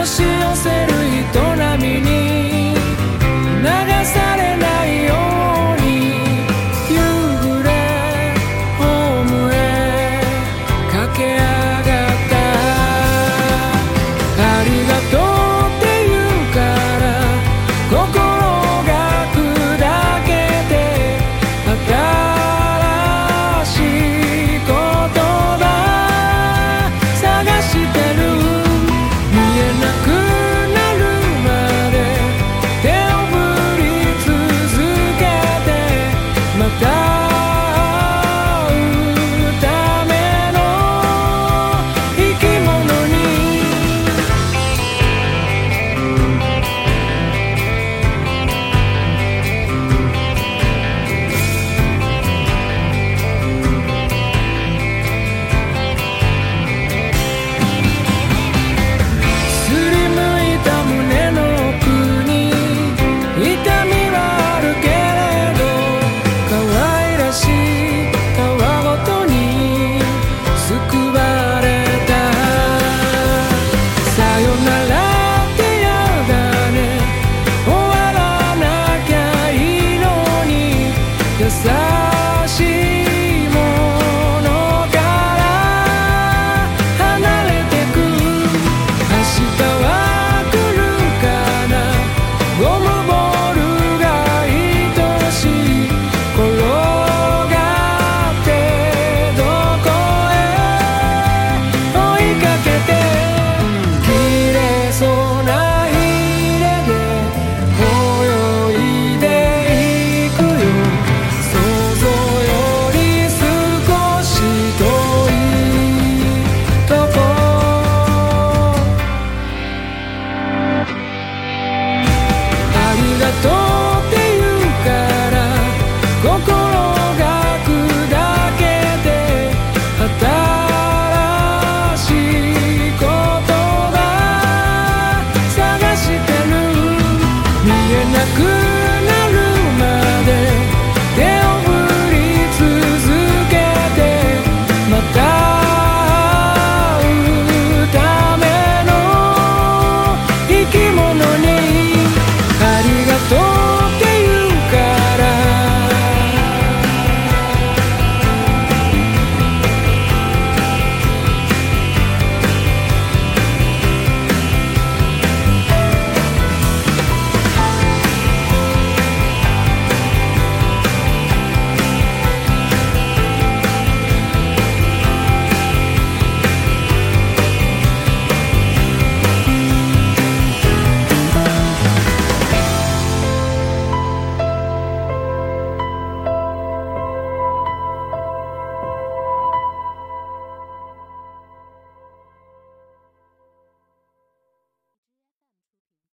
押し寄せる営みに流されないように夕暮れホームへ駆け上がった。ありがとうって言うから心が砕けて新しい言葉探してる。見えなくなるまで手を振り続けてまた会うための生き物に。すりむいた胸の奥に痛みはあるけれど可愛らしいたわごとに救われた。さよなら